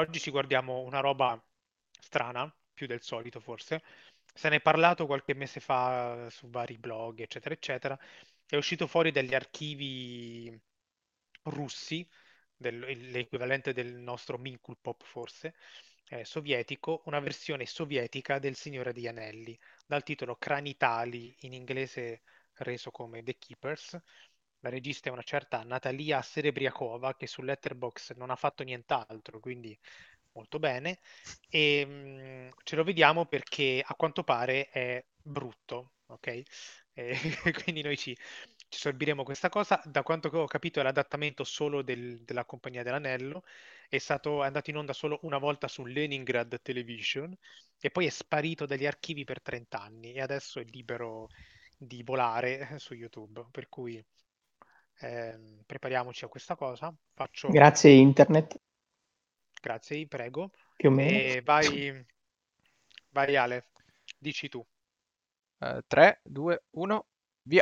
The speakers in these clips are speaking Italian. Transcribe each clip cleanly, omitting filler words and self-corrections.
oggi ci guardiamo una roba strana, più del solito forse. Se ne è parlato qualche mese fa su vari blog, eccetera, eccetera. È uscito fuori dagli archivi russi, l'equivalente del nostro Minkulpop forse, sovietico, una versione sovietica del Signore degli Anelli, dal titolo Cranitali, in inglese reso come The Keepers. La regista è una certa Natalia Serebriakova, che su Letterboxd non ha fatto nient'altro, quindi molto bene. E ce lo vediamo perché a quanto pare è brutto, ok? E quindi noi ci sorbiremo questa cosa. Da quanto ho capito è l'adattamento solo della Compagnia dell'Anello, è andato in onda solo una volta su Leningrad Television e poi è sparito dagli archivi per 30 anni e adesso è libero di volare su YouTube, per cui prepariamoci a questa cosa. Faccio, Grazie internet, grazie, prego, più o meno. e vai Ale, dici tu. 3, 2, 1, via.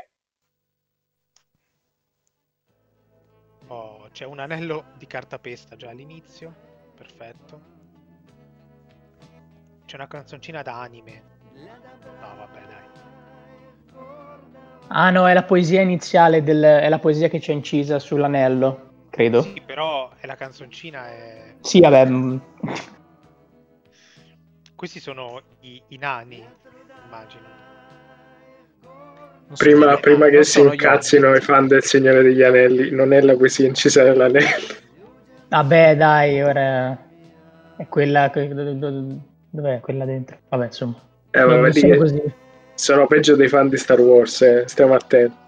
Oh, c'è un anello di cartapesta già all'inizio, perfetto. C'è una canzoncina da anime. No, vabbè, dai. Ah no, è la poesia iniziale, è la poesia che c'è incisa sull'anello, credo. Sì, però è la canzoncina è... Sì, vabbè. Questi sono i nani, immagino. Non sono Prima, io. prima che Non si sono io. incazzino i fan del Signore degli Anelli, non è la poesia incisa nell'anello. Vabbè, dai, ora è quella... Dov'è quella dentro? Vabbè, insomma. Ma Non vedi sono che così. sono peggio dei fan di Star Wars, stiamo attenti.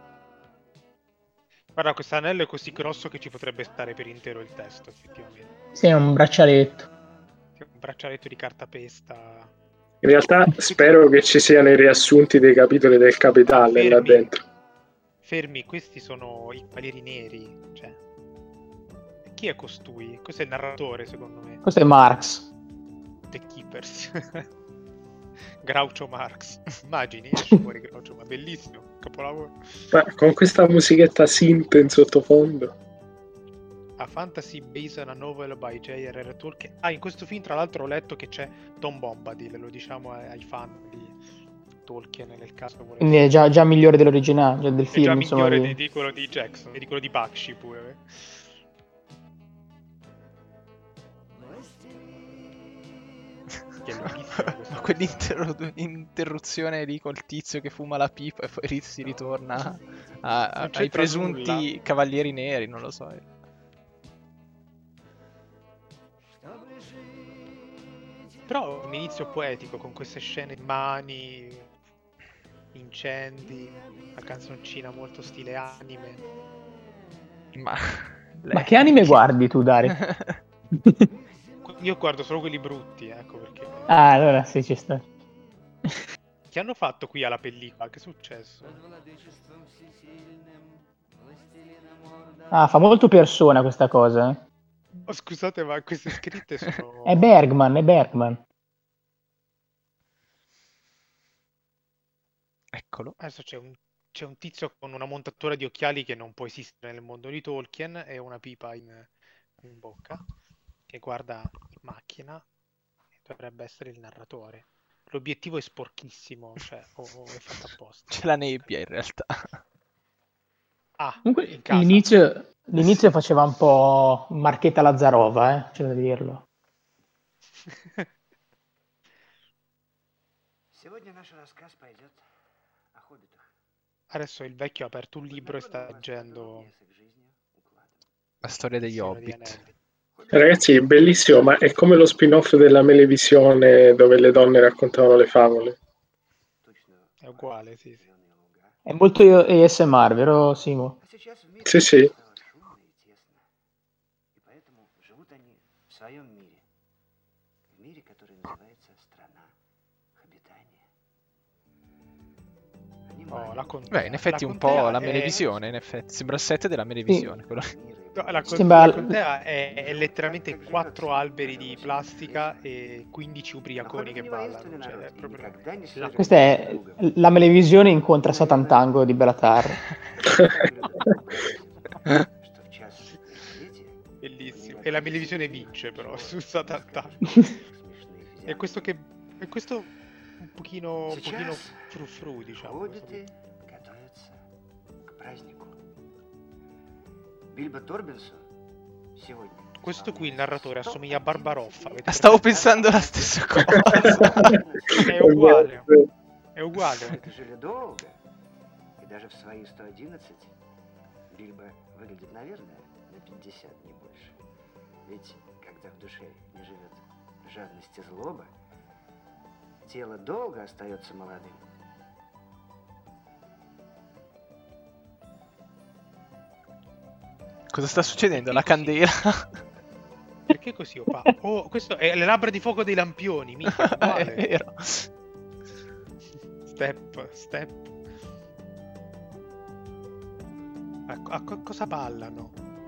Guarda, questo anello è così grosso che ci potrebbe stare per intero il testo, effettivamente. Sì, è un braccialetto. È un braccialetto di cartapesta. In realtà spero che ci siano i riassunti dei capitoli del Capitale là dentro. Fermi, questi sono i Cavalieri Neri. Cioè, chi è costui? Questo è il narratore, secondo me. Questo è Marx. The Keepers. Groucho Marx. Immagini, esce fuori Groucho, ma bellissimo, capolavoro. Ma con questa musichetta synth in sottofondo. A fantasy based on a novel by J.R.R. Tolkien. Ah, in questo film tra l'altro ho letto che c'è Tom Bombadil, lo diciamo ai fan di Tolkien nel caso volesse. Quindi è già migliore dell'originale, del È film. già insomma, migliore di quello di Jackson e di quello di Bakshi pure. Che è lunghissima questa Quell'interruzione lì col tizio che fuma la pipa e poi si ritorna ai c'entra presunti nulla. cavalieri neri, non lo so. Però un inizio poetico con queste scene di mani, incendi, una canzoncina molto stile anime. Ma che anime guardi tu, Dario? Io guardo solo quelli brutti, ecco perché. Ah, allora sì, ci sta. Che hanno fatto qui alla pellicola? Che è successo? Ah, fa molto Persona questa cosa. Oh, scusate, ma queste scritte sono... È Bergman. Eccolo. Adesso c'è un tizio con una montatura di occhiali che non può esistere nel mondo di Tolkien e una pipa in bocca che guarda in macchina e dovrebbe essere il narratore. L'obiettivo è sporchissimo, cioè, o è fatto apposta. C'è la nebbia in realtà. Ah, Comunque in casa. l'inizio faceva un po' Marchetta Lazzarova, c'è da dirlo. Adesso il vecchio ha aperto un libro e sta leggendo La storia degli Il Signore degli Hobbit. Anelli. Ragazzi, è bellissimo, ma è come lo spin-off della Melevisione dove le donne raccontavano le favole. È uguale, sì. È molto ASMR, vero Simo? Sì, sì. Oh, la Beh, in effetti la un po' contea la è- Melevisione, in effetti. Sembra il set della Melevisione. quello lì. No, Sembra- la contea è letteralmente 4 alberi di plastica e 15 ubriaconi che ballano. Cioè, è proprio la Questa è la Melevisione incontra Satan Tango di Bellatar. Bellissimo. E la televisione vince però su Satattacco. E questo che... E questo un pochino frufru, diciamo. Хоббиты готовятся к празднику. Бильбо Торбинсон сегодня. Questo qui, il narratore, assomiglia a Barbaroffa. avete Stavo presente? pensando la stessa cosa. È uguale. È uguale. Это жили долго, и даже в свои 111 Бильбо выглядит, наверное, на 50, не больше. Ведь когда в душе не живет жадность и злоба, тело долго остается молодым. Cosa sta succedendo? La candela? Perché così opaco? Oh, questo è le labbra di fuoco dei lampioni, mica, È uguale. vero. Step. Cosa ballano?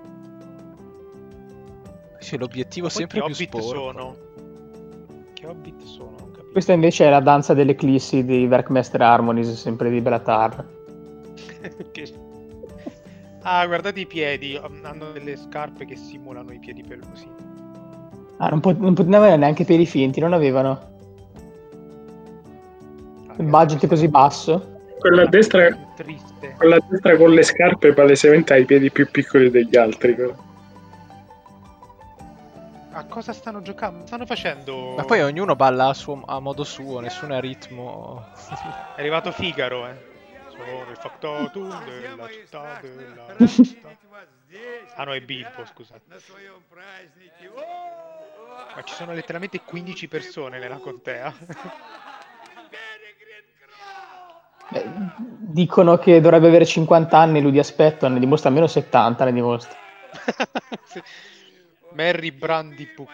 C'è l'obiettivo Poi sempre che più hobbit sporco. sono? Che hobbit sono? Non capisco. Questa invece è la danza dell'eclissi di Werkmaster Harmonies, sempre di Belatar. Che- Ah, guardate i piedi, hanno delle scarpe che simulano i piedi pelosi. Ah, non potevano avere neanche piedi finti, non avevano. Il budget è così basso. Quella a destra, Triste. quella a destra con le scarpe palesemente ha i piedi più piccoli degli altri. Però. A cosa stanno giocando? Stanno facendo... Ma poi ognuno balla a modo suo, nessuno è a ritmo. È arrivato Figaro, Sono il factotum della città della città. Ah no, è Bilbo, scusate. Ma ci sono letteralmente 15 persone nella contea. Beh, dicono che dovrebbe avere 50 anni, lui di aspetto ne dimostra almeno 70, ne dimostra. Sì. Merry Brandy Book.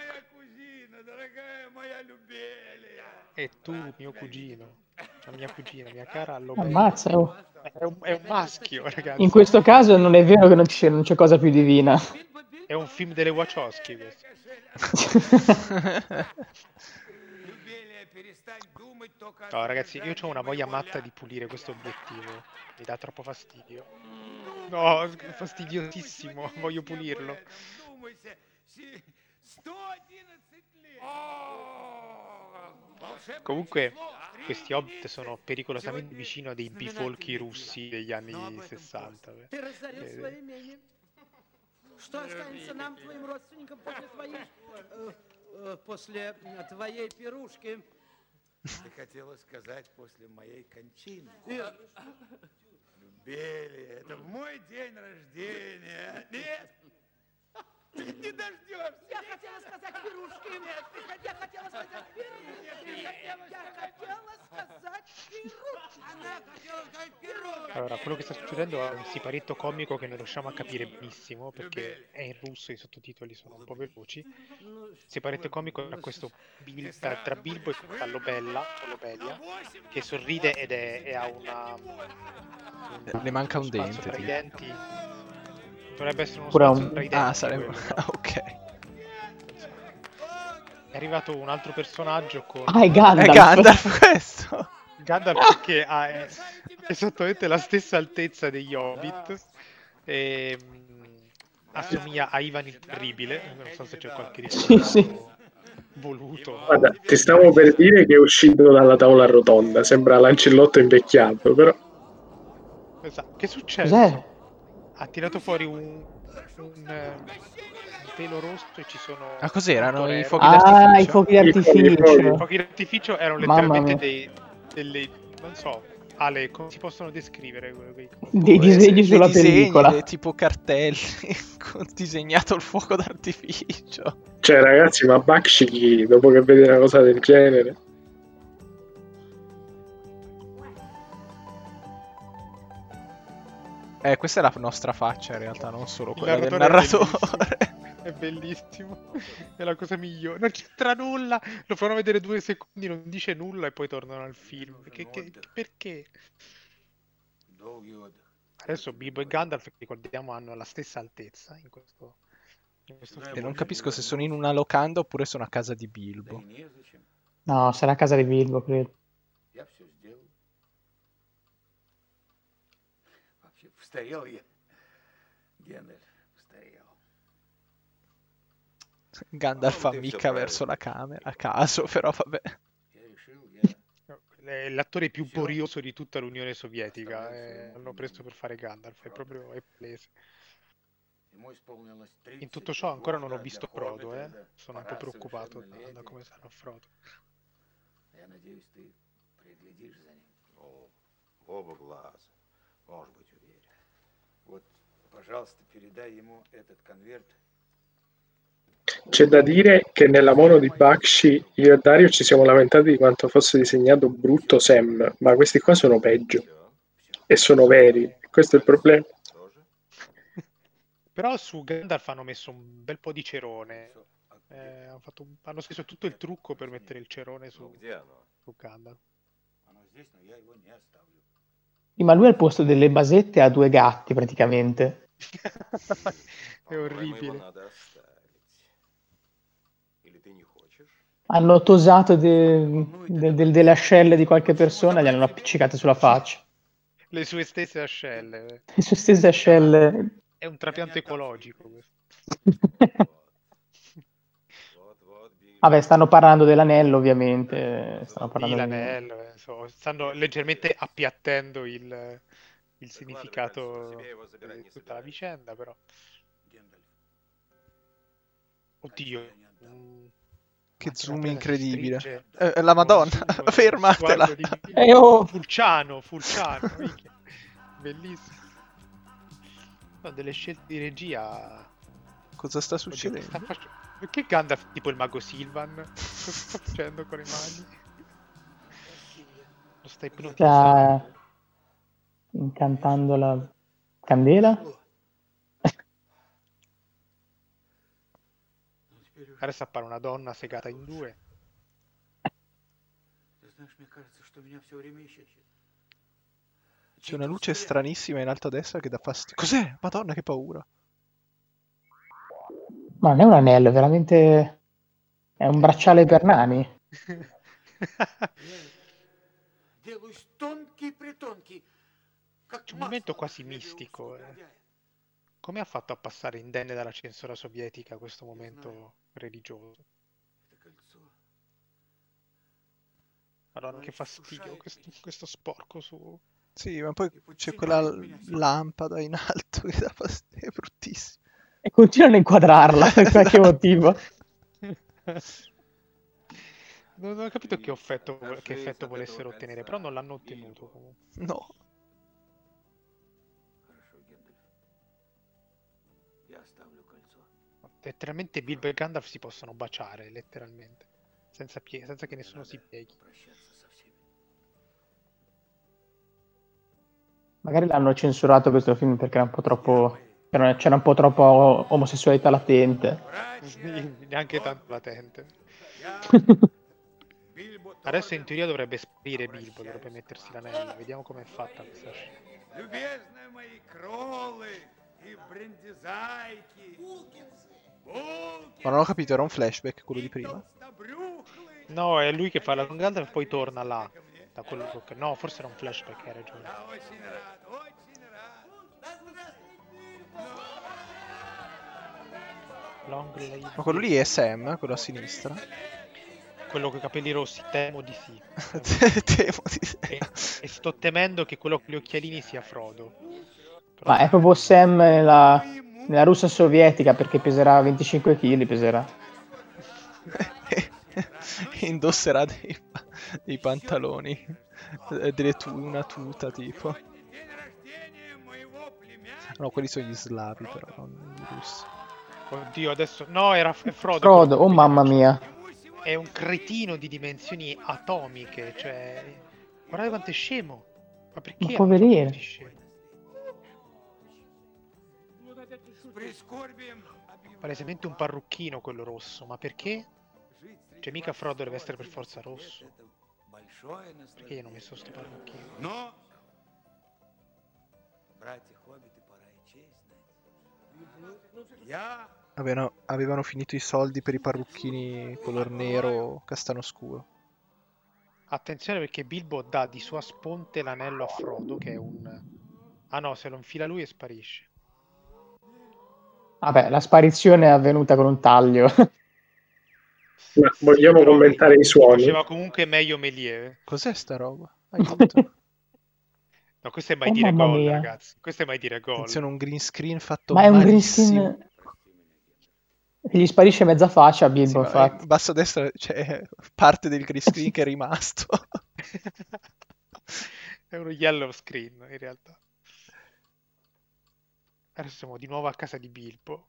E tu, mio cugino. La mia cugina, mia cara Lobello. Ammazza, oh. È un maschio, ragazzi. In questo caso non è vero che non c'è cosa più divina. È un film delle Wachowski questo. No, ragazzi, io ho una voglia matta di pulire questo obiettivo. Mi dà troppo fastidio. No, fastidiosissimo. Voglio pulirlo. Comunque, questi hobbit sono pericolosamente vicino a dei bifolchi russi degli anni 60. Ты разорил свое имение. Что останется нам, твоим родственникам, после твоей пирушки? Ты хотела сказать после моей кончины. Любели, это мой день рождения. Нет, не дождешься. Я хотела сказать пирушки. Я хотела сказать пирушки. Я хотела сказать пирушки. Она хотела сказать пирушки. Allora, quello che sta succedendo è un siparietto comico che non riusciamo a capire benissimo perché è in russo, i sottotitoli sono un po' veloci. Il siparietto comico è questo tra Bilbo e questa Lobella, o Lobelia, che sorride e ha Le manca un spazio dente, tra i tipo. denti. Dovrebbe essere uno Pure spazio un- tra i denti. Ah, sarebbe... quello. ok. È arrivato un altro personaggio con Ah, è È Gandalf. Gandalf questo! Gandalf che è esattamente la stessa altezza degli Hobbit e assomiglia a Ivan il Terribile. Non so se c'è qualche Sì, riferimento sì. voluto. Guarda, ti stavo per dire che è uscito dalla tavola rotonda, sembra l'ancellotto invecchiato, però Esatto. Che è successo? Cos'è? Ha tirato fuori un pelo rosso e ci sono... Ah, cos'erano i un fuochi torero. Ah, i d'artificio? fuochi I fuochi, d'artificio. I fuochi d'artificio erano Mamma letteralmente mia. delle... non so, Ale, come si possono descrivere? Dei disegni sulla pellicola. Tipo cartelli con disegnato il fuoco d'artificio. cioè ragazzi, ma Bakshi dopo che vede una cosa del genere Questa è la nostra faccia in realtà, non solo Il quella del narratore narratore. È bellissimo, è la cosa migliore. Non c'entra nulla, lo fanno vedere 2 secondi, non dice nulla e poi tornano al film. Perché? Adesso Bilbo e Gandalf, che ricordiamo, hanno la stessa altezza in questo E non capisco se sono in una locanda oppure sono a casa di Bilbo. No, sarà a casa di Bilbo, credo. Я все сделал. Вообще, постарел я. Гендальф, постарел. Gandalf fa mica verso la camera, a caso, però vabbè. Я решил, я È l'attore più borioso di tutta l'Unione Sovietica. L'hanno preso per fare Gandalf, è palese. ему исполнилось In tutto ciò 32 ancora non ho года, visto для Frodo, Хоббита это Sono un po' пора preoccupato da совершеннолетия. come sarà Frodo. Я надеюсь, ты приглядишь за ним. Ну, в оба глаза. Можешь быть уверен. Вот, пожалуйста, передай ему этот конверт. C'è da dire che nella mono di Bakshi io e Dario ci siamo lamentati di quanto fosse disegnato brutto Sam, ma questi qua sono peggio e sono veri. Questo è il problema. Тоже? Però su Gandalf hanno messo un bel po' di cerone. Hanno speso tutto il trucco per mettere il cerone Ну, su где оно? Gandalf. Оно здесь, но я его не оставлю. Sì, ma lui al posto delle basette ha 2 gatti praticamente. È По-моему, его orribile. надо оставить. Или ты не хочешь? Hanno tosato delle ascelle di qualche persona e le hanno appiccicate sulla faccia. Le sue stesse ascelle. Le sue stesse ascelle. È un trapianto ecologico questo. Вот, Билли. Vabbè, stanno parlando dell'anello, ovviamente. Stanno Sì, parlando l'anello, stanno leggermente appiattendo il significato di tutta la vicenda, però. Гендальф, Oddio. Che Anche zoom la tela si stringe. stringe. La Madonna, Con zoom, fermatela. sguardo di- oh! Fulciano, minchia. Bellissimo. No, delle scelte di regia. Cosa sta Oddio, che succedendo? sta facendo? Perché Gandalf tipo il mago Silvan? Cosa sta facendo con le mani? Lo sta ipnotizzando. Sta incantando la candela. Adesso appare una donna segata in due. ты знаешь, мне кажется, что меня все время ищет. C'è una luce stranissima in alto a destra che dà fastidio. Cos'è? Madonna, che paura. Ma non è un anello, è veramente... È un bracciale per nani. Делаюсь тонкий-притонкий, как C'è un momento масло quasi в хлебе у mistico. негодяя. Come ha fatto a passare indenne dalla censura sovietica questo momento religioso? Это кольцо. Madonna, che fastidio, questo sporco su... Sì, ma poi c'è quella lampada in alto che dà fastidio. È bruttissimo. E continuano a inquadrarla per qualche motivo. Non ho capito che effetto volessero ottenere, però non l'hanno ottenuto comunque. No. Хорошо, Гендальф. Я оставлю кольцо. Letteralmente Bilbo e Gandalf si possono baciare, letteralmente. Senza che nessuno si pieghi. Прощаться со всеми. Magari l'hanno censurato questo film perché era un po' troppo... C'era un po' troppo omosessualità latente. Neanche tanto latente. Я, Бильбо Adesso in Торбин, teoria dovrebbe sparire Bilbo, dovrebbe mettersi l'anello. Vediamo com'è fatta questa scena. любезные мои кролы и брендизайки, Ma non ho capito, era un flashback quello di prima. толстобрюхлые. No, è lui che parla con Gandalf e poi torna là. Da quello che... No, forse era un flashback, hai ragione. Я очень рад, очень рад. Long live Ma quello lì è Sam, quello a sinistra. quello con i capelli rossi, temo di sì. Temo di E sto temendo che quello con gli occhialini sia Frodo. Però- Ma è proprio Sam nella Russia sovietica perché peserà 25 kg, peserà. Indosserà dei pantaloni, una tuta tipo. День рождения моего племянника. No, quelli sono gli slavi però, non i russi. Oddio, adesso... No, era Frodo. Frodo, oh mamma mia. È un cretino di dimensioni atomiche, cioè... Guardate quanto è scemo. Ma perché? Ma hanno poverino. fatto così scemo? С прискорбием объявляю. Palesemente un parrucchino quello rosso, ma perché? Жить среди Cioè mica ваших Frodo deve всего essere per один forza лет rosso. это большое Perché gli hanno наслаждение. messo sto parrucchino? Но, братья хоббиты, пора и честь знать. Я Avevano finito i soldi per i parrucchini color nero castano scuro. Attenzione perché Bilbo dà di sua sponte l'anello a Frodo, che è un... Ah no, se lo infila lui e sparisce. Vabbè, la sparizione è avvenuta con un taglio. Ma vogliamo Però commentare i suoni? faceva comunque meglio Méliès. Cos'è sta roba? Aiuto. No, questo è mai Oh, dire mamma gol, mia. ragazzi. Questo è mai dire Attenzione, gol. un green screen fatto Ma è un green malissimo. screen che gli sparisce mezza faccia a Sì, Bilbo, ma in infatti. basso a destra c'è parte del green screen che è rimasto. È uno yellow screen, in realtà. Adesso siamo di nuovo a casa di Bilbo.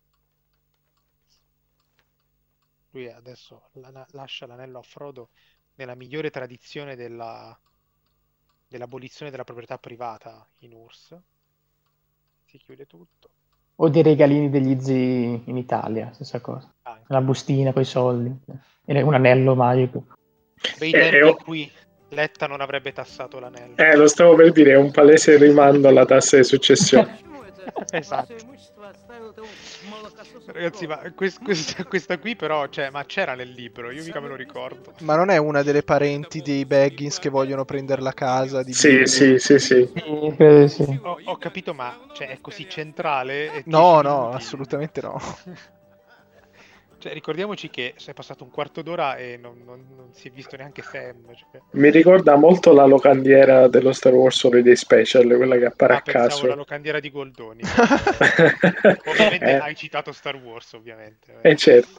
Lui adesso lascia l'anello a Frodo nella migliore tradizione dell'abolizione della proprietà privata in URSS. Si chiude tutto. O dei regalini degli zii in Italia, stessa cosa. Anche. La bustina con i soldi. E un anello magico. Bei tempi in cui Letta non avrebbe tassato l'anello. Lo stavo per dire, è un palese rimando alla tassa di successione. Esatto. Ragazzi, ma questa qui però, cioè, ma c'era nel libro, io mica me lo ricordo. Ma non è una delle parenti dei Baggins che vogliono prendere la casa di Sì, Bilbo? sì. Sì, credo di sì. Ho capito, ma cioè, è così centrale? È 10 No, no, minuti. assolutamente no. Cioè, ricordiamoci che è passato un quarto d'ora e non si è visto neanche Sam. Cioè. Mi ricorda molto la locandiera dello Star Wars Holiday Special, quella che appare a Pensavo caso. la locandiera di Goldoni. Ovviamente hai citato Star Wars, ovviamente. Certo.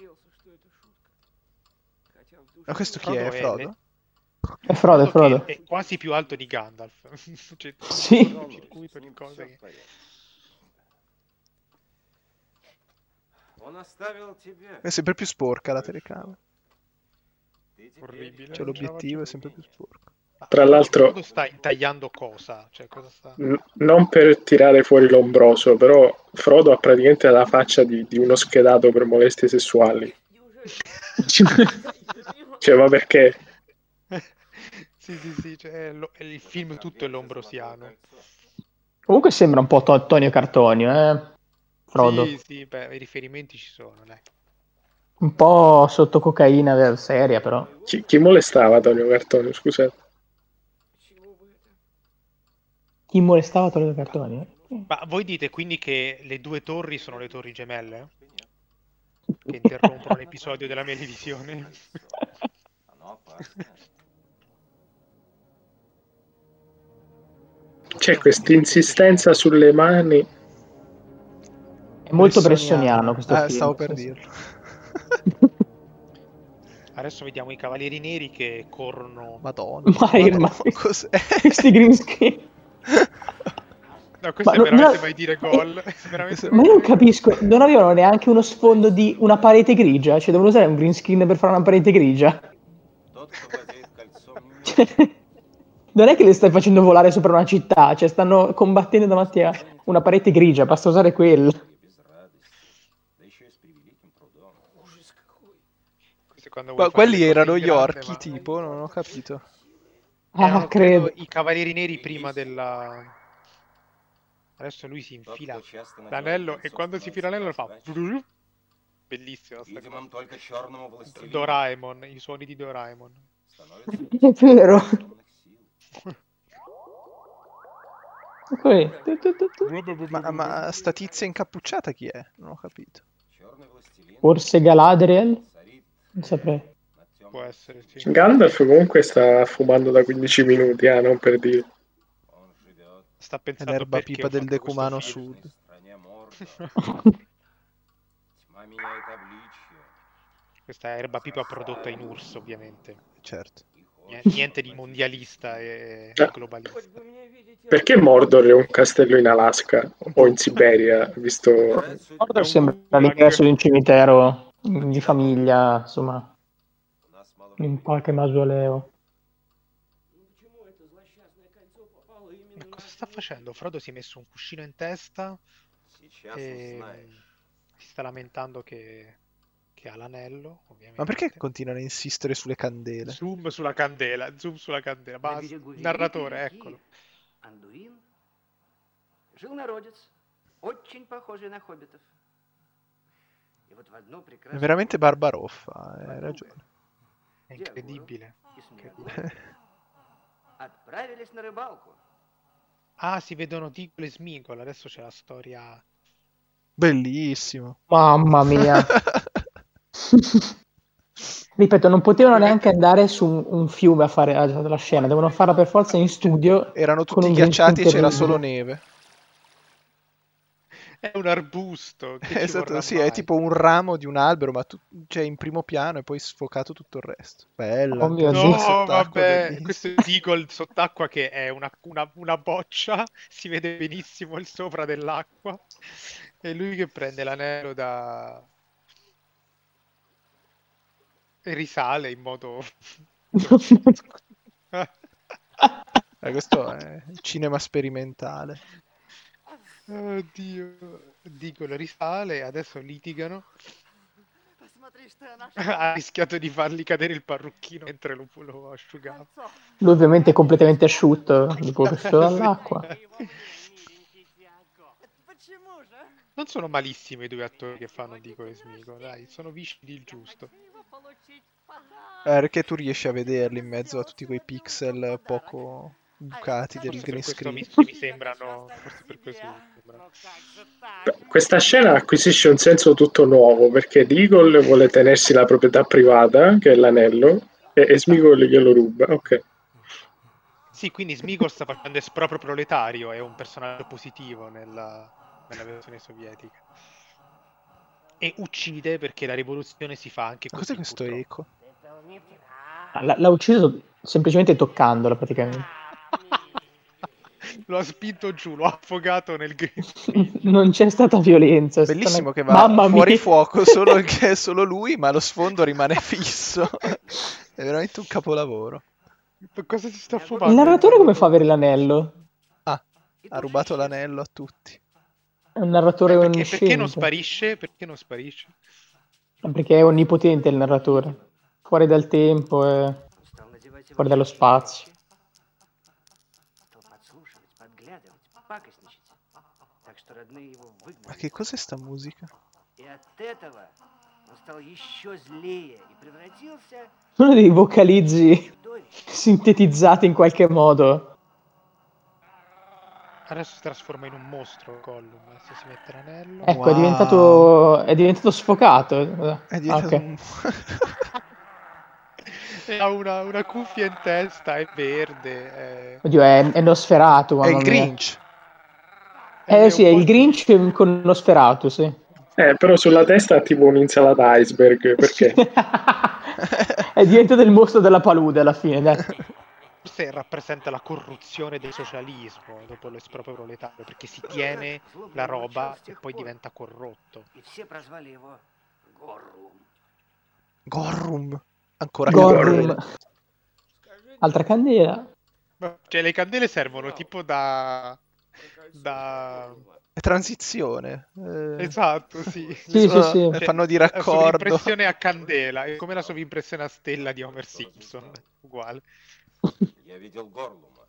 Ma questo chi è? Frodo? È Frodo, è Frodo. Che è quasi più alto di Gandalf. C'è Sì. un circuito di cose che... È sempre più sporca la telecamera. Orribile. Cioè l'obiettivo è sempre più sporco. Tra l'altro, Frodo sta intagliando cosa? Cioè, cosa sta... non per tirare fuori l'ombroso, però Frodo ha praticamente la faccia di uno schedato per molestie sessuali. Cioè, ma perché? Sì, cioè, il film tutto è lombrosiano. Comunque sembra un po' Tonio Cartonio, Frodo. Sì, beh, i riferimenti ci sono, dai. Un po' sotto cocaina seria, però. Chi molestava Tonio Cartonio, scusate? Chi molestava Tonio Cartonio? Ma voi dite quindi che le due torri sono le torri gemelle? Che interrompono l'episodio della Melevisione? C'è questa insistenza sulle mani. È molto bressoniano questo film. Stavo per dirlo. Adesso vediamo i Cavalieri Neri che corrono. Madonna. Ma cos'è? questi green screen. No, questo Ma è veramente mai dire gol. Ma io non capisco, non avevano neanche uno sfondo di una parete grigia? Cioè, devono usare un green screen per fare una parete grigia? Cioè, non è che le stai facendo volare sopra una città, cioè stanno combattendo davanti a una parete grigia, basta usare quello. Quelli erano gli orchi, tipo, non ho capito. Credo. I Cavalieri Neri prima della... Adesso lui si infila l'anello e quando si infila l'anello lo fa... Bellissimo. Doraemon, i suoni di Doraemon. È vero. Ma sta tizia incappucciata chi è? Non ho capito. Forse Galadriel? Non saprei. Può essere, sì. Gandalf comunque sta fumando da 15 minuti, non per dire. Sta pensando l'erba perché pipa ho del fatto questo decumano film. sud. Questa è erba pipa prodotta in URSS, ovviamente. Certo. Niente di mondialista e globalista. Perché Mordor è un castello in Alaska o in Siberia, visto... Mordor sembra l'ingresso di un cimitero di famiglia, insomma, in qualche mausoleo. Ma cosa sta facendo? Frodo si è messo un cuscino in testa e si sta lamentando che ha l'anello, ovviamente. Ma perché continuano a insistere sulle candele? Zoom sulla candela. Basta. Il narratore, eccolo. Андуин жил народец, очень похожий на хоббитов. И вот в одну È прекрасную... veramente Barbaroffa, hai ragione. È incredibile. Отправились на рыбалку. Ah, si vedono Diggle e Smigol. Adesso c'è la storia. Bellissimo. Mamma mia. Ripeto, non potevano neanche andare su un fiume a fare la scena, devono farla per forza in studio. Erano con tutti un green ghiacciati e screen c'era terribile. solo neve. È un arbusto, che ci Esatto, vorrà sì, è mai? tipo un ramo di un albero, ma cioè in primo piano e poi sfocato tutto il resto. Bella, Oh anche mio la Dio. scena No, sott'acqua è vabbè, bellissima. questo è Deagle sott'acqua che è una boccia, si vede benissimo il sopra dell'acqua. E lui che prende l'anello e risale in modo grottesco. Questo è cinema sperimentale. Oddio, Deagle risale, adesso litigano. Посмотри, что я Ha rischiato di fargli cadere il parrucchino mentre lo asciugava. Lui ovviamente è completamente asciutto dopo che è uscito Sì. dall'acqua. Почему же? Non sono malissimi i due attori che fanno Deagle e Smeagol, dai, sono vicini il giusto. Perché tu riesci a vederli in mezzo a tutti quei pixel poco bucati del Forse per green questo screen. mi sembrano. Forse per questo mi sembrano. Questa scena acquisisce un senso tutto nuovo perché Deagle vuole tenersi la proprietà privata, che è l'anello, e Smeagol glielo ruba. Ok. Sì, quindi Smeagol sta facendo esproprio proletario, è un personaggio positivo nella versione sovietica. E uccide perché la rivoluzione si fa anche Ma così. cos'è questo purtroppo. eco? L'ha ucciso semplicemente toccandola praticamente. Lo ha spinto giù, lo ha affogato nel green screen. Non c'è stata violenza. È stata Bellissimo una- che va Mamma fuori mia. fuoco solo che è solo lui, ma lo sfondo rimane fisso. È veramente un capolavoro. Cosa si sta Il fumando? narratore come fa a avere l'anello? Ah, ha rubato l'anello a tutti. È un narratore Perché non onnisciente. sparisce? Perché non sparisce? Perché è onnipotente il narratore. Fuori dal tempo e Стал надевать его fuori dallo чаще и spazio. чаще. Стал подслушивать, подглядывать, пакостничать. Так что родные его Ma выгнали. che cos'è sta musica? И от этого он стал еще злее и превратился Uno dei vocalizzi в чудовище. sintetizzati in qualche modo. Adesso si trasforma in un mostro Gollum. Adesso si mette l'anello. Ecco, Wow. è diventato sfocato. È diventato ok. un... E ha una cuffia in testa, è verde. Oddio, è Nosferatu, È mamma il mia. Grinch. Sì, è il Grinch con Nosferatu, sì. Però sulla testa ha tipo un'insalata iceberg, perché? È diventato il mostro della palude alla fine, dai. Forse rappresenta la corruzione del socialismo dopo l'esproprio proletario, perché si tiene la roba e poi diventa corrotto. И все прозвали его Горрум. Gorrum. Ancora Gollum. candele. Altra candela. Cioè le candele servono tipo da... È transizione. Esatto, sì. Sì, sì, sì. Fanno di La raccordo. sovrimpressione a candela, è come la sovrimpressione a stella di Homer Simpson, uguale. Я видел Горлума.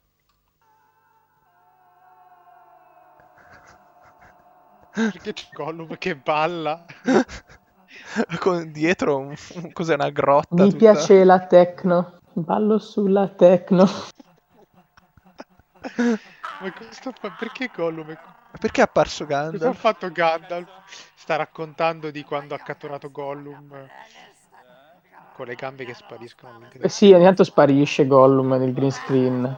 Perché c'è Gollum che balla. Con dietro cos'è, una grotta Mi tutta... piace la techno. Ballo sulla techno. Ma perché Gollum è... Perché è apparso Cosa ha Gandalf? fatto Gandalf? Sta raccontando di quando ha catturato Gollum con le gambe che spariscono. Sì, ogni tanto sparisce Gollum nel green screen.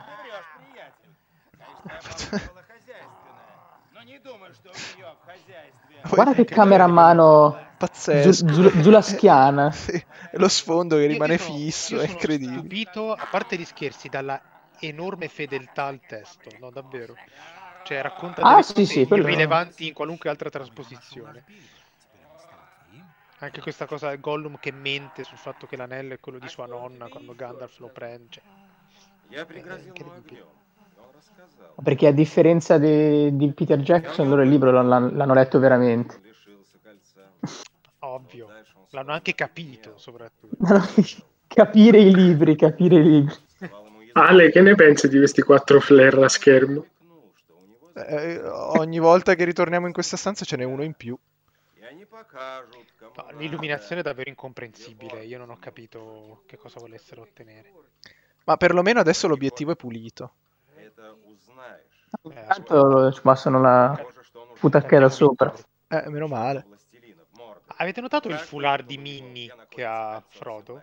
Guarda che camera a mano Pazzesco. zulaschiana. Sì, e lo sfondo che rimane Io sono fisso, è incredibile. stupito, a parte gli scherzi, dalla enorme fedeltà al testo, no, davvero. Cioè, racconta delle Sì, cose sì, quello... irrilevanti in qualunque altra trasposizione. Anche questa cosa del Gollum che mente sul fatto che l'anello è quello di sua nonna quando Gandalf lo prende. Cioè, Я пригрозил ему incredibile. огнем. И он рассказал. Perché a differenza di Peter Jackson, loro il libro l'hanno letto veramente. Он лишился кольца. Ovvio, l'hanno anche capito soprattutto. Capire i libri. Давал ему еду. Ale, che ne pensi di questi 4 flare a schermo? Намекнул, что у него Ogni volta che ritorniamo in questa stanza ce n'è uno in più. И они покажут, кому No, надо. l'illuminazione è davvero incomprensibile, io non ho capito che cosa volessero ottenere. Ma perlomeno adesso l'obiettivo è pulito. Это узнаешь. Tanto ci passano la Похоже, что он уже putacchera sopra. Meno male. властелина в Мордоре. Avete notato il foulard di Minnie che ha Frodo?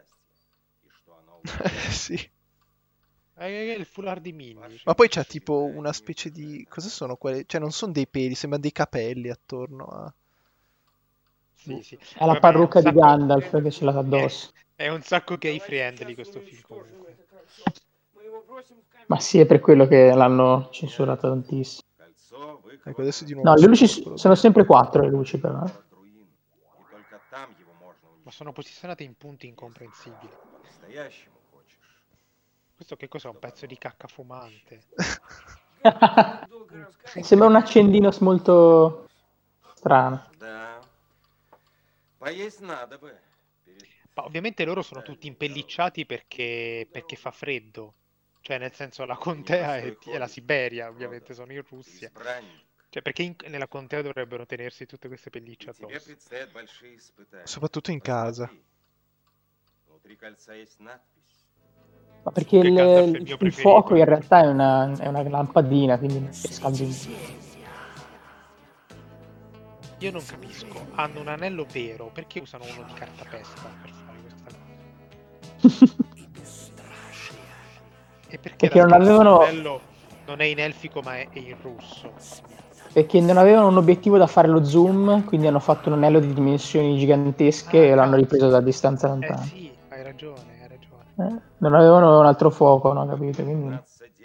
Sì. È il foulard di Minnie. Ma poi c'ha tipo una specie di... Cosa sono quelle? Cioè non sono dei peli, sembrano dei capelli attorno a... Sì, sì. È la Vabbè, parrucca di Gandalf che ce l'ha addosso. È un sacco gay friendly questo film comunque. Ma sì, è per quello che l'hanno censurato tantissimo. Ecco, adesso di nuovo No, le luci scompro. sono sempre 4 le luci però. Ma sono posizionate in punti incomprensibili. Questo che cos'è? Un pezzo di cacca fumante? Sembra un accendino molto strano. Ma ovviamente loro sono tutti impellicciati perché fa freddo. Cioè, nel senso, la contea è la Siberia, ovviamente, sono in Russia. Cioè, perché nella contea dovrebbero tenersi tutte queste pellicce addosso? Soprattutto in casa. Ma perché Che Gandalf è il mio il preferito. fuoco in realtà è una lampadina, quindi non si scalda in Io non capisco. Hanno un anello vero, perché usano uno di cartapesta per fare questa cosa? E Perché non l'altro avevano- anello non è in elfico ma è in russo? Perché non avevano un obiettivo da fare lo zoom, quindi hanno fatto un anello di dimensioni gigantesche e l'hanno ripreso da distanza lontana. Sì, hai ragione, hai ragione. Non avevano un altro fuoco, no, capito? Quindi...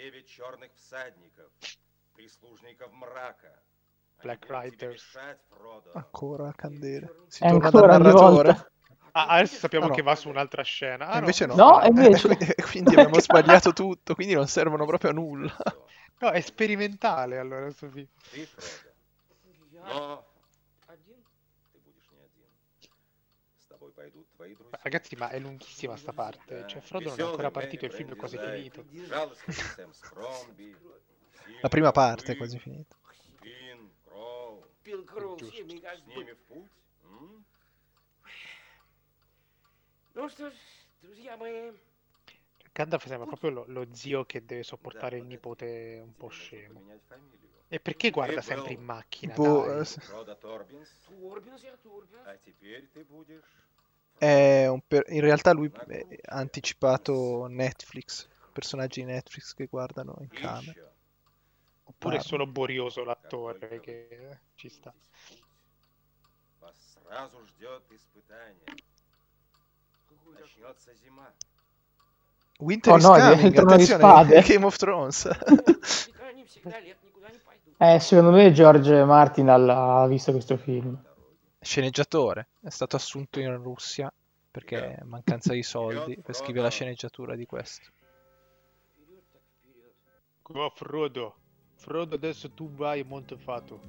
Black Riders. Ancora candele. Si È torna ancora dal ogni narratore. volta. Ah, adesso sappiamo Ah, no. che va su un'altra scena. Ah, Invece no. No, invece... Quindi abbiamo sbagliato tutto, quindi non servono proprio a nulla. No, è sperimentale allora questo film. Ragazzi, ma è lunghissima sta parte. Cioè, Frodo non è ancora partito, il film è quasi finito. La prima parte è quasi finita. Пил Кроу с ними как бы. Ну что ж, друзья мои, Gandalf sembra proprio lo zio che deve sopportare il nipote un po' scemo. E perché guarda sempre in macchina? Boh, Dai. Турбинс, я Турбинс. in realtà lui ha anticipato Netflix, personaggi di Netflix che guardano in camera. Oppure è solo borioso l'attore che ci sta. Winter Oh is no, è coming, il Trono di attenzione, Spade. Game of Thrones. Никогда не всегда лет, никуда не пойду. Secondo me George Martin ha visto questo film. Sceneggiatore, è stato assunto in Russia perché mancanza di soldi per scrivere la sceneggiatura di questo. Вперед так вперед. Oh, Frodo. Frodo, adesso tu vai a Montefato.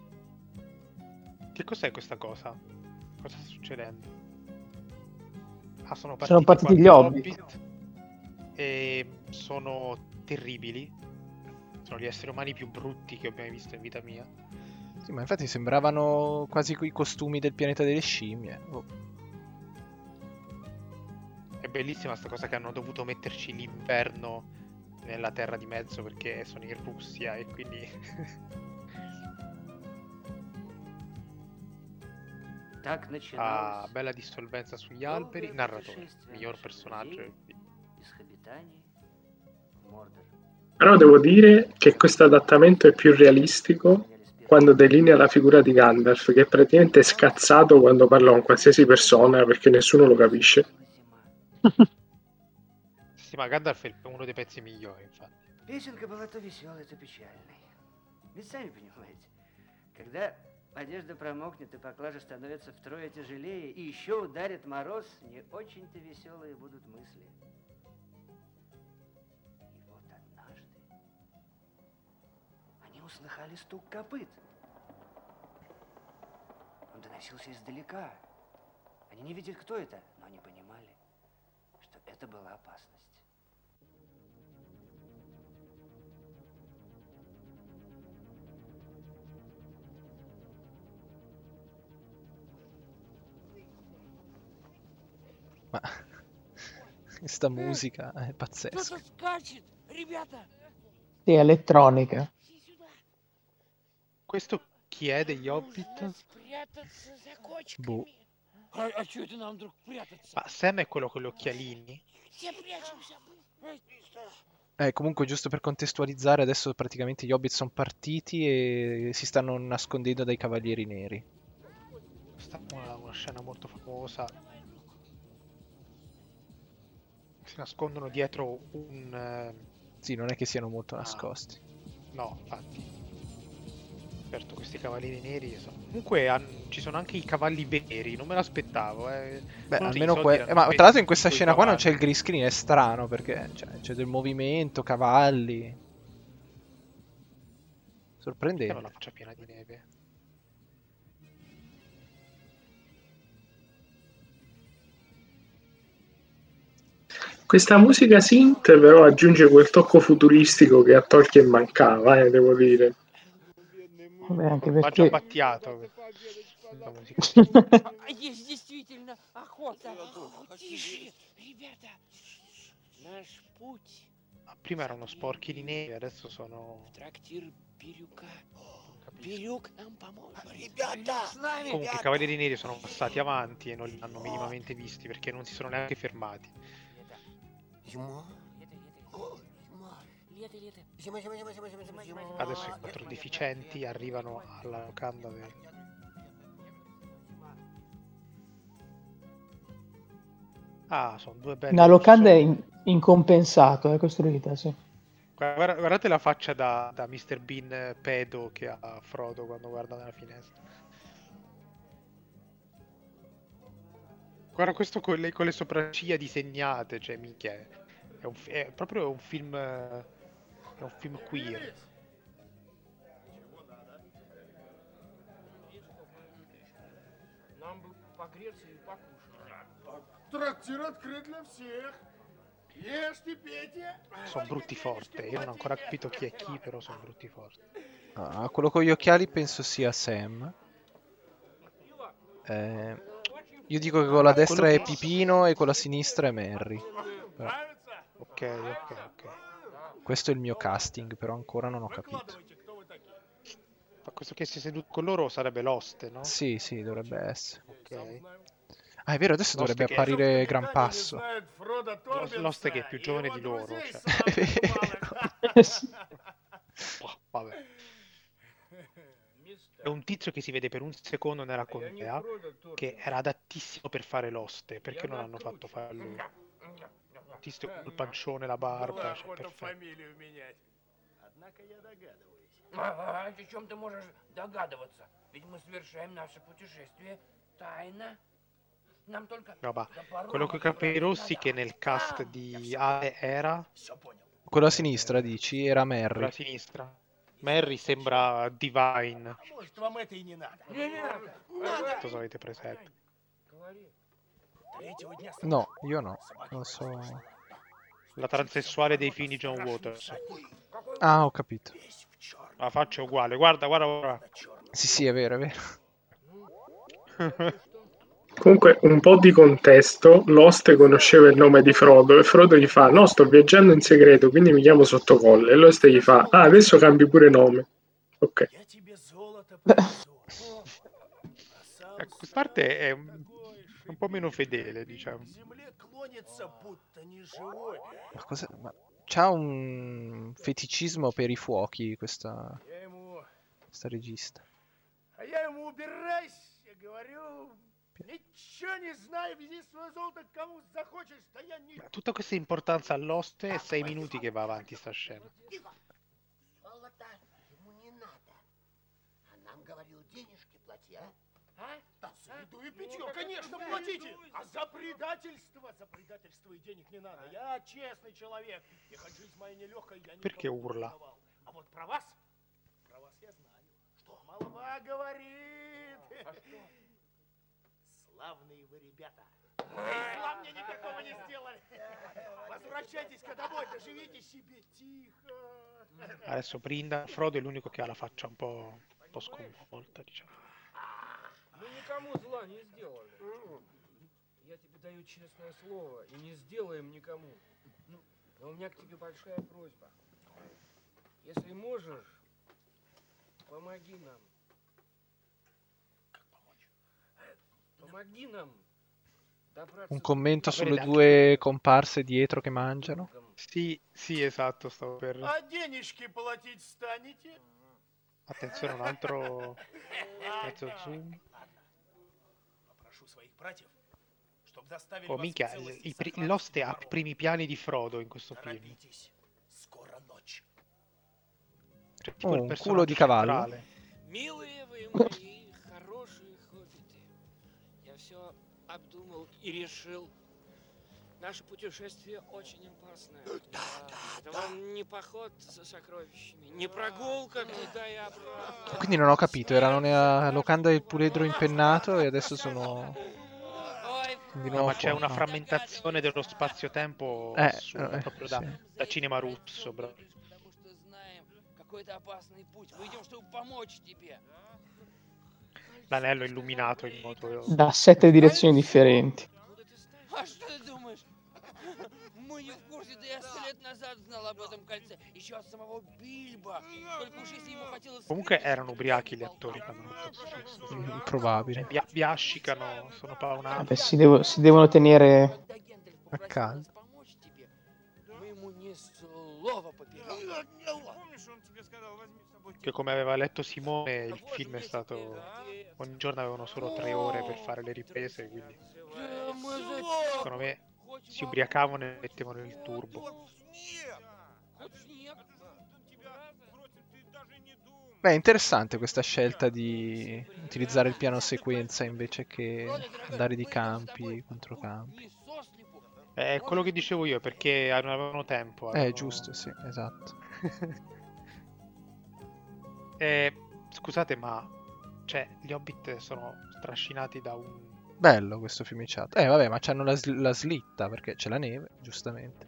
Che cos'è questa cosa? Cosa sta succedendo? Ah, sono Sono partiti qualche gli Hobbit. E sono terribili. Sono gli esseri umani più brutti che ho mai visto in vita mia. Sì, ma infatti sembravano quasi quei costumi del pianeta delle scimmie. Oh. È bellissima sta cosa che hanno dovuto metterci l'inverno nella terra di mezzo perché sono in Russia e quindi... Так начиналось bella dissolvenza sugli alberi. Narratore, miglior personaggio del film. из обитаний в Мордор. Però devo dire che questo adattamento è più realistico quando delinea la figura di Gandalf, che è praticamente scazzato quando parla con qualsiasi persona perché nessuno lo capisce. Sì, ma Gandalf è uno dei pezzi migliori, infatti. Песенка была то веселой, то печальной. Ведь сами понимаете, когда одежда промокнет и поклажа становится втрое тяжелее, и еще ударит мороз, не очень-то веселые будут мысли. И вот однажды они услыхали стук копыт. Он доносился издалека. Они не видели, кто это, но они понимали, что это была опасность. Ma questa musica è pazzesca. Кто-то скачет, ребята. Sì, elettronica. Иди сюда. Questo chi è degli Hobbit? Надо спрятаться за кочками. Boh. А что это нам вдруг прятаться? Ma Sam è quello con gli occhialini? Все прячемся. Comunque, giusto per contestualizzare, adesso praticamente gli Hobbit sono partiti e si stanno nascondendo dai Cavalieri Neri. Questa è una scena molto famosa. Si nascondono dietro un... Sì, non è che siano molto nascosti. No, infatti. Certo, questi cavalieri neri comunque ci sono anche i cavalli veri, non me l'aspettavo. Beh, Secondo te i almeno soldi erano ma spesi tra l'altro in su questa quei scena qua non c'è cavalli? il green screen, è strano perché c'è del movimento, cavalli. Perché hanno Sorprendente. la faccia piena di neve? Questa musica synth però aggiunge quel tocco futuristico che a Tolkien mancava, devo dire. Vabbè, anche Va già perché battiato la musica. Есть действительно охота. Тише, ребята. Наш путь Prima erano sporchi di neve, adesso sono... в трактир Бирюка. Capisco. Бирюк нам поможет. Ребята! С нами. Comunque i cavalieri neri sono passati avanti e non li hanno minimamente visti perché non si sono neanche fermati. Зима? Лето, лето. Зима, зима, зима, зима, зима, зима. Adesso i quattro deficienti arrivano alla locanda del... Ah, sono due belli una locanda persone. incompensato, è costruita, sì. Guardate la faccia da Mr. Bean pedo che ha Frodo quando guarda dalla finestra. Guarda questo con le sopracciglia disegnate, cioè minchia, è proprio un film, è un film queer. Нам бы погреться и покушать. Трактир открыт для всех. Ешьте, пейте. Sono brutti forte, io non ho ancora capito chi è chi, però sono brutti forte. Ah, quello con gli occhiali penso sia Sam. Io dico che con la destra quello è che- Pipino e con la sinistra è Merry. Però Ok. questo è il mio casting, però ancora non ho capito. Ma questo che si è seduto con loro sarebbe l'oste, no? Sì, sì, dovrebbe essere. Ok. Ah, è vero, adesso L'oste dovrebbe che- apparire Gran Passo. L'oste che è più giovane di loro, cioè. Boh, vabbè. È un tizio che si vede per un secondo nella contea che era adattissimo per fare l'oste, perché non hanno fatto fare lui? Un tizio col pancione, la barba, cioè, perfetto. фамилию менять. Однако я догадываюсь. О чем ты можешь догадываться? Ведь мы совершаем наше путешествие тайно. Нам только No, ma до порога quello con i capelli rossi che nel cast di Ale era Все понял. Quello a sinistra, dici, era sulla Merry. sinistra. Mary sembra Divine, А может, вам это и не надо? non so se avete presente. Третьего дня No, io no. Non so. La transessuale dei film di John Waters. Ah, ho capito. La faccia è uguale, guarda, guarda, guarda. Sì, sì, è vero, è vero. Comunque, un po' di contesto, l'oste conosceva il nome di Frodo e Frodo gli fa: no, sto viaggiando in segreto, quindi mi chiamo Sottocolle. E l'oste gli fa: ah, adesso cambi pure nome. Ok. я тебе золото принесу. А сам Ecco, questa parte è un po' meno fedele, diciamo. к земле клонится, будто неживой. Ma cosa... Ma... C'ha un feticismo per i fuochi questa regista. А я ему убирайся, говорю. Ничего не знаю, вези свое золото к кому захочешь, да я не... Tutta questa importanza all'oste è 6 minuti che va avanti sta scena. Золото ему не надо. А нам, говорил, денежки плати, а? Да, за еду и питье, конечно, платите. А за предательство и денег не надо. Я честный человек. И хоть жизнь моя нелегкая, я Perché никому не urla? давал. А вот про вас я знаю. Что молва говорит. Славные вы ребята. И зла мне никакого не сделали. Возвращайтесь-ка домой, доживите себе тихо. Adesso Brinda, Frodo è l'unico che ha la faccia un po' sconvolta, diciamo. Мы никому зла не сделали. Я тебе даю честное слово, и не сделаем никому. Но у меня к тебе большая просьба. Если можешь, помоги нам. Помоги нам добраться Un commento Ma sulle vedete, due comparse dietro che mangiano. Sì, sì, esatto, stavo per... А денежки платить станете? Attenzione, un altro mezzo zoom. Попрошу своих братьев, чтоб заставили Oh, вас в minchia, целости и l'oste сохранности ha i primi piani di Frodo in questo film. Торопитесь, скоро ночь. Cioè, tipo Oh, il un culo personaggio di cavallo. centrale. Милые вы мои хорошие хоббиты, я все обдумал и решил. Наше путешествие очень опасное. Это вам не поход за сокровищами, не прогулка туда и обратно. Quindi non ho capito, erano nella locanda del puledro impennato e adesso sono di No, nuovo ma c'è fuori. una No. frammentazione dello spazio-tempo assurda, proprio sì. da cinema russo, bro. Потому что знаем какой-то опасный путь. Мы идем, чтобы помочь тебе. L'anello illuminato in modo... Da 7 direzioni differenti. А что ты думаешь? Мы не в курсе, да я 100 лет назад знал об этом кольце. Еще от самого Бильбо. Только уж если ему хотелось... Comunque erano ubriachi gli attori che hanno fatto questo film. Probabile. Biascicano, sono paonati. Vabbè, si devono tenere... Когда Гендальф A попросил caldo. нас помочь тебе, мы ему ни слова поперек. Che come aveva letto Simone, il film è stato... Ogni giorno avevano solo 3 ore per fare le riprese, quindi Да мы за... secondo me si ubriacavano e mettevano il turbo. Хочешь снег? Beh, è interessante questa scelta di utilizzare il piano sequenza invece che andare di campi, controcampi. Не сослепу. È quello che dicevo io, perché non avevano tempo. Giusto, sì, esatto. Scusate, ma... Cioè, gli Hobbit sono strascinati da un... Bello questo fiumiciato. Vabbè, ma c'hanno la slitta perché c'è la neve, giustamente.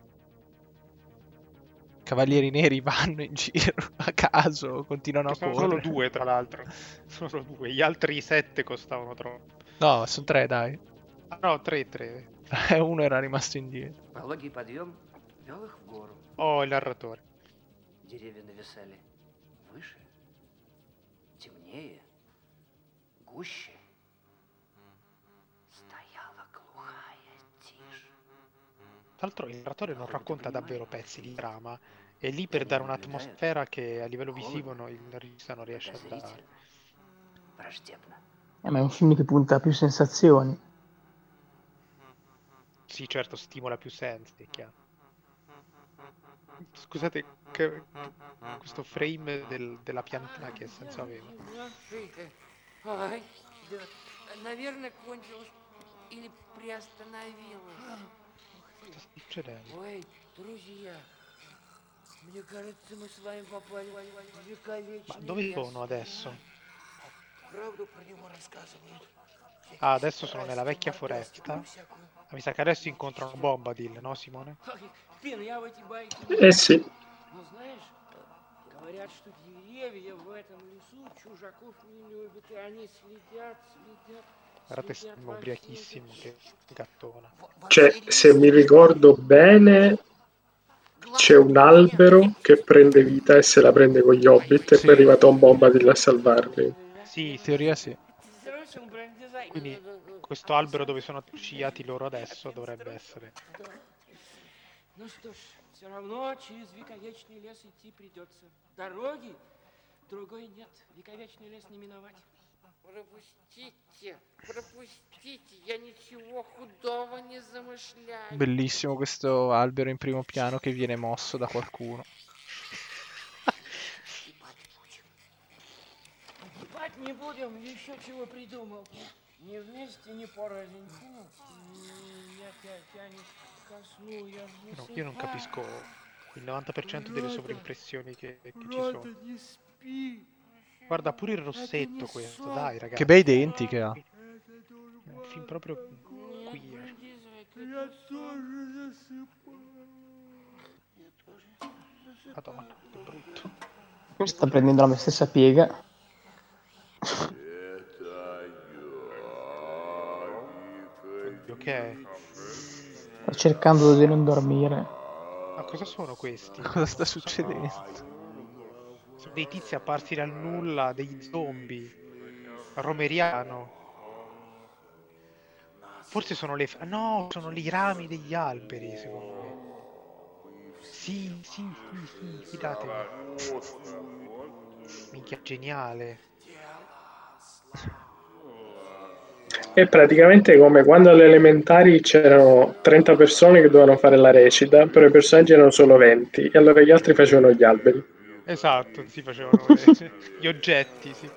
Cavalieri neri vanno in giro a caso, continuano a Sono solo correre. 2, tra l'altro. Sono solo 2. Gli altri 7 costavano troppo. No, sono 3, dai. Ah, no, 3. Uno era rimasto indietro. Пологий подъем вел их в гору. Oh, il narratore. Деревья нависали выше, темнее, гуще. Стояла глухая тишь. Tra l'altro il narratore non racconta davvero pezzi di trama. È lì per dare un'atmosfera che a livello visivo il regista non riesce a dare. Враждебно. Ma è un film che punta a più sensazioni. Sì, certo, stimola più sensi, è chiaro. Scusate, questo frame della piantina che senso aveva? Ай, да, наверное, кончилось или приостановилось. Cosa sta succedendo? Ой, друзья, мне кажется, мы с вами попали в вековечный Ma dove лес. sono adesso? Правду про него рассказывают. Ah, adesso sono nella vecchia foresta. Ah, mi sa che adesso incontrano Bombadil, no Simone? Фин, я в эти байки... Eh sì, Ну, знаешь, говорят, что деревья в этом лесу чужаков не любят, и они следят. Guardate, sembra ubriachissimo, che gattona. cioè, se mi ricordo bene, c'è un albero che prende vita e se la prende con gli Hobbit e Sì. poi arriva Tom Bombadil a salvarli. Sì, In teoria sì. quindi questo albero dove sono sciati loro adesso dovrebbe essere... Ну что ж, все равно через вековечный лес идти придется. Дороги другой нет. Вековечный лес не миновать. Пропустите, я ничего худого не замышляю. Bellissimo questo albero in primo piano che viene mosso da qualcuno. Погибать не будем, еще чего придумал. Не вместе, не порознь. Меня тянет ко сну, я No, io non capisco il 90% delle sovraimpressioni che ci sono. не спи. Guarda pure il rossetto questo, dai ragazzi. Che bei denti che ha. È un film proprio queer. Я тоже засыпаю. Madonna, che brutto. Questo sta prendendo la mia stessa piega. Oddio, che è? Sta cercando di non dormire. Ma cosa sono questi? Cosa sta succedendo? Sono dei tizi apparsi dal nulla, degli zombie. Romeriano. Forse sono le... No, sono i rami degli alberi, secondo me. Sì, fidatevi. Minchia, geniale. È praticamente come quando alle elementari c'erano 30 persone che dovevano fare la recita, però i personaggi erano solo 20 e allora gli altri facevano gli alberi. Esatto, si facevano gli oggetti, sì.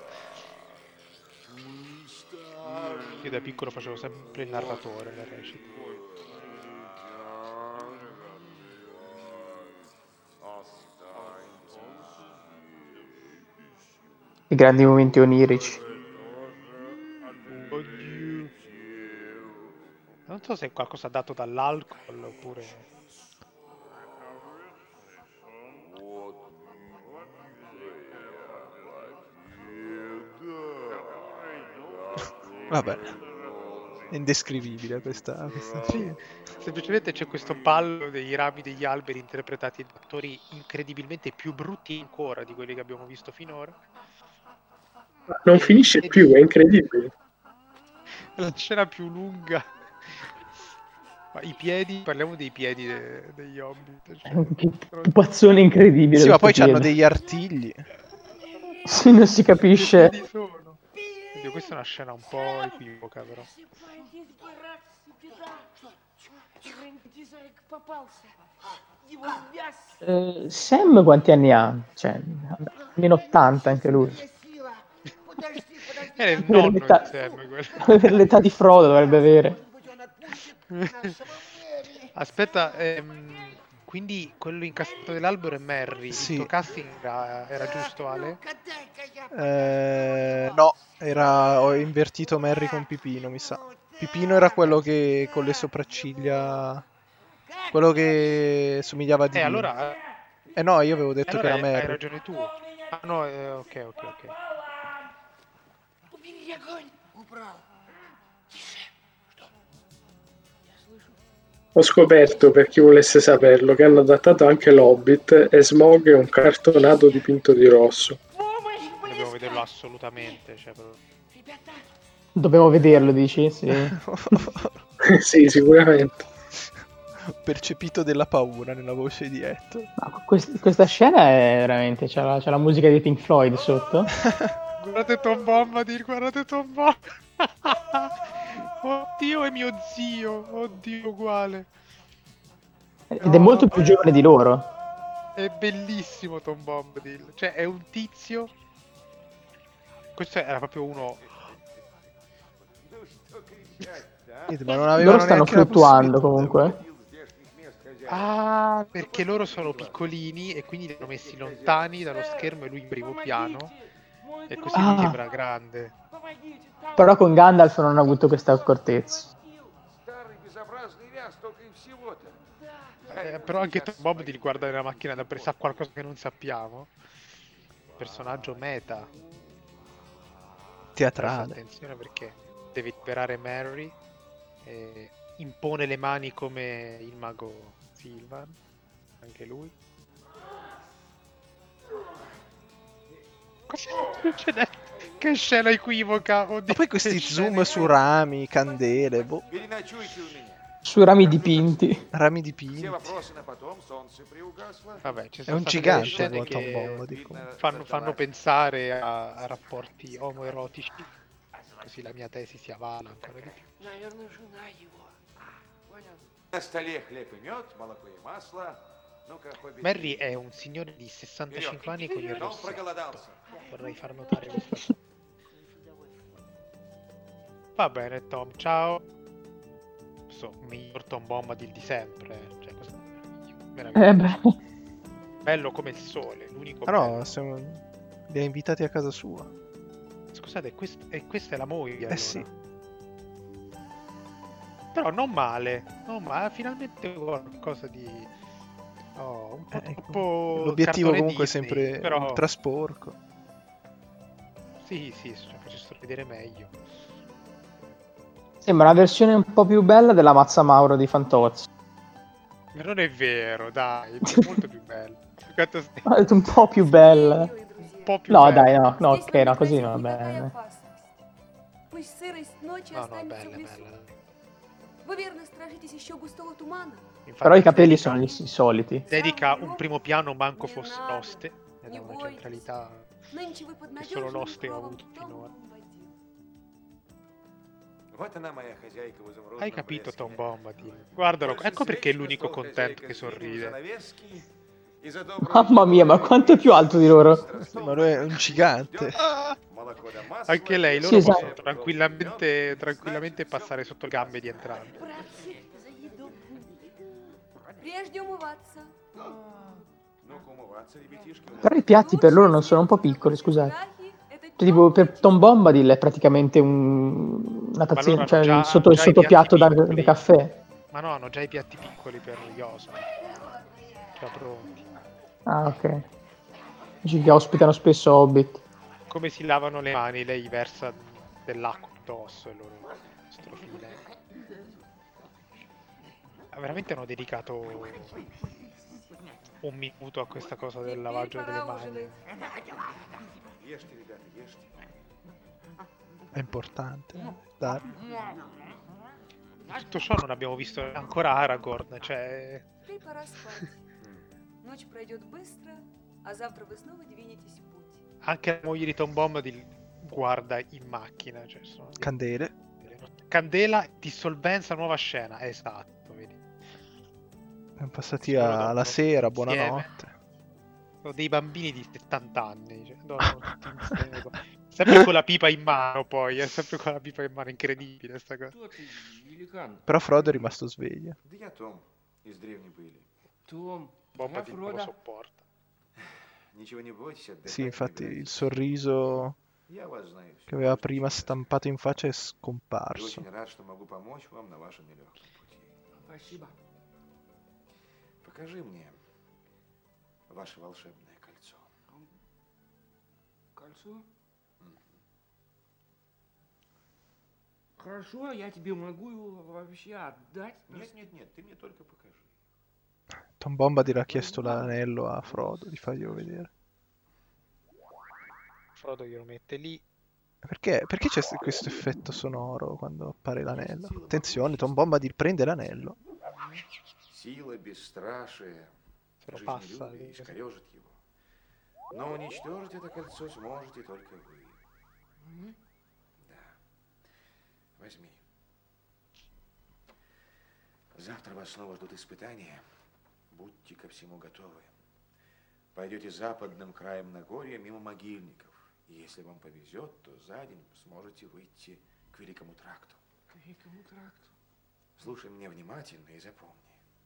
Io da piccolo facevo sempre il narratore nella recita. I grandi momenti onirici. Oddio. Non so se è qualcosa dato dall'alcol oppure... Vabbè, è indescrivibile questa Sì, semplicemente c'è questo ballo dei rami degli alberi interpretati da attori incredibilmente più brutti ancora di quelli che abbiamo visto finora. Non finisce più, è incredibile. La scena più lunga. Ma i piedi, parliamo dei piedi degli Hobbit. È un pupazzone incredibile. Sì, ma questo poi c'hanno piede. degli artigli. Sì, non si capisce. Che piedi sono? Oddio, questa è una scena un po' equivoca, però. Sam quanti anni ha? Cioè, almeno 80 anche lui. Era il nonno di L'età- Sam, quello. L'età di Frodo dovrebbe avere. Aspetta, quindi quello incastrato dell'albero è Merry. Sì. Il tuo casting era giusto, Ale? No, ho invertito Merry con Pipino, mi sa. Pipino era quello che con le sopracciglia, quello che somigliava a Dino. Allora, No, io avevo detto allora che era hai Merry. ragione tu. Ah no, ok. Ho scoperto, per chi volesse saperlo, che hanno adattato anche l'Hobbit e Smaug è un cartonato dipinto di rosso. Dobbiamo vederlo assolutamente. Cioè, Dovevo vederlo, dici? Sì. Sì, sicuramente. Percepito della paura nella voce di Ettore. Ma questa scena è veramente... C'è la musica di Pink Floyd sotto. Guardate Tom Bombadil, guardate Tom Bombadil. Oddio, è mio zio. Oddio, uguale. Ed è molto più giovane di loro. È bellissimo Tom Bombadil. Cioè, è un tizio. Questo era proprio uno. Ma non avevano Loro stanno neanche la fluttuando possibilità. comunque. Ah, perché loro sono piccolini e quindi li hanno messi lontani dallo schermo e lui in primo piano. E così mi sembra grande. Però con Gandalf non hanno avuto questa accortezza. Però anche Tom Bombadil guarda nella macchina da presa qualcosa che non sappiamo. Personaggio meta. Teatrale. Attenzione perché deve liberare Merry e impone le mani come il mago Silvan, anche lui. Cosa succede? Che scena equivoca! Oddio, Ma poi questi che zoom scena su rami, candele, boh, Sui rami dipinti. rami dipinti. Vabbè, ci È sono un state gigante delle scene Tom che Bombadil. fanno pensare a rapporti omoerotici, così la mia tesi si avvala ancora di più. Наверное, жена его. Понял? На столе хлеб и мед, молоко и масло. Ну-ка, хоббит. Merry è un signore di 65 anni con il Non rossetto. проголодался. Vorrei far notare questo. Va bene, Tom, ciao. Miglior Tom Bombadil di sempre. Cioè, questo è meraviglioso. Beh. Bello come il sole, l'unico Ah bello. no, li ha invitati a casa sua. Scusate, questa è la moglie. Allora. Sì. Però non male, finalmente qualcosa di un po' troppo L'obiettivo cartone comunque Disney, è sempre però ultra sporco. sì, cioè, faccio vedere meglio. Sembra una versione un po' più bella della Mazza Mauro di Fantozzi. Ma non è vero, dai, è molto più bello. Ha detto un po' più bella. Un po' più No, bello. dai, no, ok, no, così non va bene. No, bella. Вы верно страшитесь еще густого тумана? Infatti Però i capelli sono i soliti. dedica un primo piano manco fosse Не l'oste, надо, ed не ha una бойтесь. centralità Нынче вы под che solo надежным l'oste ha кровом avuto finora. Том Бомбадил. Вот она, моя хозяйка в изумрудном Hai capito, блеске. Tom Bombadil? Guardalo, Больше ecco perché è встречного l'unico стол contento хозяйка che сдвинул sorride. занавески, и за добрую Mamma mia, ma quanto è più alto di loro? Ma lui è un gigante. молоко да масло. Anche lei, Sì, loro esatto. possono tranquillamente passare sotto le gambe di entrambi. Братцы, за еду. Прежде умываться. Ну-ка умываться, ребятишки. Però i piatti per loro non sono un po' piccoli, scusate. Cioè, tipo, per Tom Bombadil è praticamente una Ma loro tazzina, hanno cioè già- il sotto, il già i sottopiatto piatti da piccoli. caffè. Ma no, hanno già i piatti piccoli per Yosa. Già pronti. Ah, ok. Dici che ospitano spesso Hobbit. Come si lavano le mani, lei versa dell'acqua addosso e loro strofile. Veramente hanno dedicato un minuto a questa cosa del lavaggio delle mani. Ешьте, ребята, ешьте. È importante. Dai. Tutto ciò non abbiamo visto ancora Aragorn, cioè Теперь пора спать. Ночь пройдет быстро, а завтра вы снова двинетесь в путь. anche la moglie di Tom Bombadil guarda in macchina, cioè sono Candele. Candela, dissolvenza, nuova scena, esatto, vedi. Siamo passati Solo alla dormono sera, insieme. buonanotte. Sono dei bambini di 70 anni, cioè, dormono tutti insieme, sempre con la pipa in mano poi, è sempre con la pipa in mano, incredibile sta cosa. Кто ты, великан? Però Frodo è rimasto sveglio. Да я Том, из древней пыли. Том, Bombadil non lo Фродо. sopporta. Ничего не бойтесь, отдыхайте. Sì, infatti играйте. il sorriso Я вас знаю. che aveva prima Всё. stampato in faccia è И scomparso. очень рад, что могу помочь вам на вашем нелегком пути. Спасибо. Покажи мне ваше волшебное кольцо. Кольцо? Хорошо, я тебе могу его вообще отдать. Нет, ты мне только покажи. Tom Bombadil ha chiesto l'anello a Frodo di farglielo vedere. Frodo glielo mette lì. Perché c'è questo effetto sonoro quando appare l'anello? Attenzione, Tom Bombadil prende l'anello. Сила бесстрашия Se lo passa. жизнелюбие искорежит его. Но уничтожить это кольцо сможете только вы. Да. Возьми. Завтра вас снова ждут испытания. Будьте ко всему готовы. Пойдете западным краем Нагорья мимо могильников. И если вам повезет, то за день сможете выйти к Великому тракту. К Великому тракту. Слушай меня внимательно и запомни.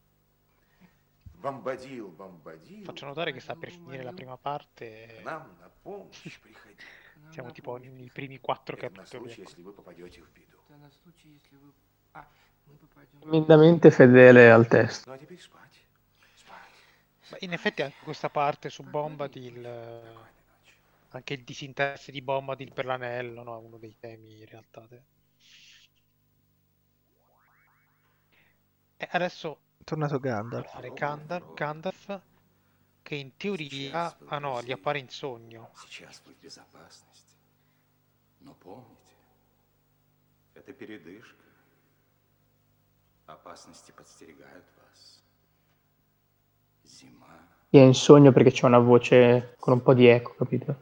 Бомбадил, Бомбадил, Faccio notare che sta per finire la prima parte. к нам на помощь приходи. Siamo tipo nei primi 4 Это на capitoli. случай, если вы попадете в беду. Это на случай, если вы... А, мы попадем... Tremendamente fedele al testo. Ну а теперь спать. Спать. Ma in effetti anche questa parte su Bombadil, anche il disinteresse di Bombadil per l'anello, no? È uno dei temi in realtà. E adesso È tornato Gandalf. fare Gandalf, che in teoria, ah no, gli appare in sogno. Сейчас вы в безопасности. Но помните, это передышка. Опасности подстерегают вас. Зима. È in sogno perché c'è una voce con un po' di eco, capito?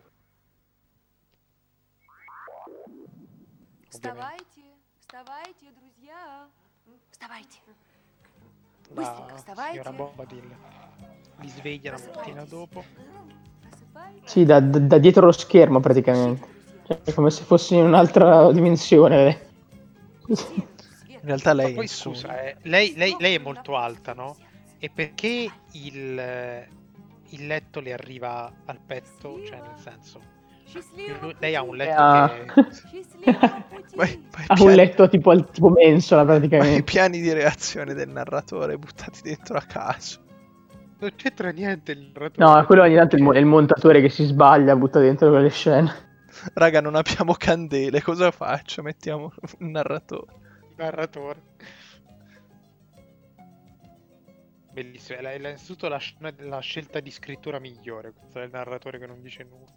Вставайте, вставайте, друзья. Вставайте. La Bыстренько вставайте. signora Bombadil li sveglia la mattina dopo. Просыпайтесь. Sì, da dietro lo schermo praticamente. Cioè, è come se fossi in un'altra dimensione. In realtà lei Ma è poi in sogno. scusa, lei è molto alta, no? E perché il letto le arriva al petto? Cioè, nel senso, Счастливого lei ha un пути. letto Ah. che... Счастливого пути. Ma Ha un letto tipo mensola ma i praticamente. piani di reazione del narratore buttati dentro a caso. Non c'entra niente il narratore. No, quello ogni tanto è il montatore che si sbaglia, butta dentro quelle scene. Raga, non abbiamo candele, cosa faccio? Mettiamo un narratore. Il narratore. Bellissimo, è innanzitutto la scelta di scrittura migliore, questa del narratore che non dice nulla.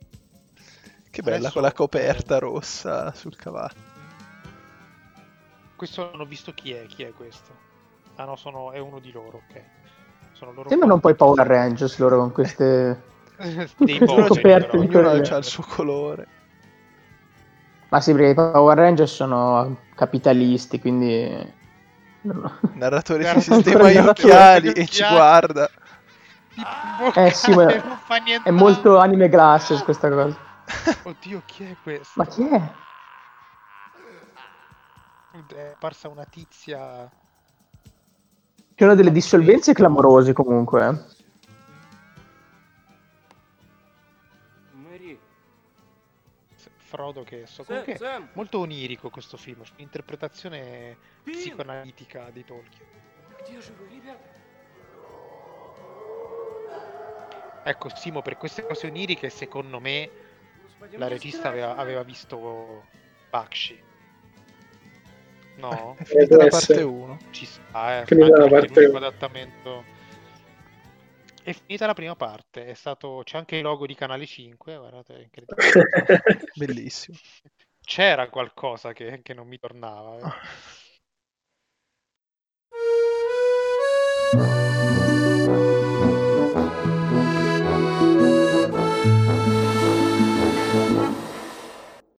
Che bella Adesso, con la coperta rossa sul cavallo. Questo non ho visto chi è questo. Ah no, è uno di loro, ok. Sono loro Sembrano un po' i Power Rangers loro con queste dei Ognuno poveri, coperte però. di Ognuno quelle. ha il suo colore. Ma sì, perché i Power Rangers sono capitalisti, quindi Il narratore si Guarda, sistema ancora gli il narratore occhiali con gli e ci occhiali. guarda. Di bocca sì, ma e non fa è nient'altro. molto anime glasses questa cosa. Oddio, chi è questo? Ma chi è? È apparsa una tizia. Ci sono delle dissolvenze clamorose comunque. Мэри, Frodo che so. Sam, Comunque Sam. molto onirico questo film, un'interpretazione psicoanalitica di Tolkien. Где же вы, ребята? Ecco, Simo, per queste cose oniriche, secondo me Господи, la мне regista страшно. aveva visto Bakshi. No? È finita può la parte essere. 1. Ci sta, Finita anche la perché parte l'unico uno. adattamento. È finita la prima parte, c'è anche il logo di Canale 5, guardate, è incredibile. Bellissimo. C'era qualcosa che non mi tornava.